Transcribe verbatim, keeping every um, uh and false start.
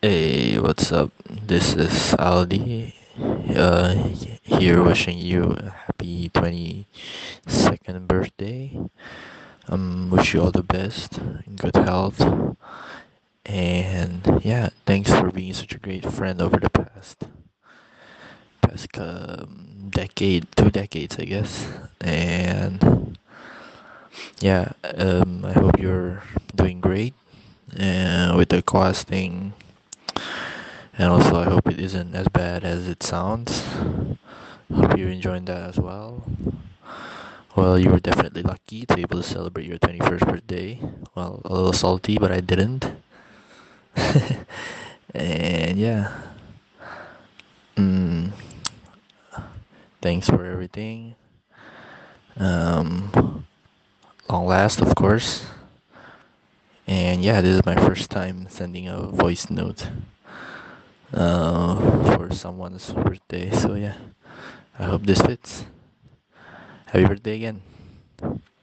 Hey, what's up? This is Aldi. Uh, here wishing you a happy twenty-second birthday. Um, wish you all the best, good health, and yeah, thanks for being such a great friend over the past past um, decade, two decades, I guess. And yeah, um, I hope you're doing great. And with the class thing, and also I hope it isn't as bad as it sounds. Hope you're enjoying that as well. Well, you were definitely lucky to be able to celebrate your twenty-first birthday. Well, a little salty, but I didn't. And yeah, mm, thanks for everything. Um, long last, of course. And yeah, this is my first time sending a voice note uh, for someone's birthday. So yeah, I hope this fits. Happy birthday again.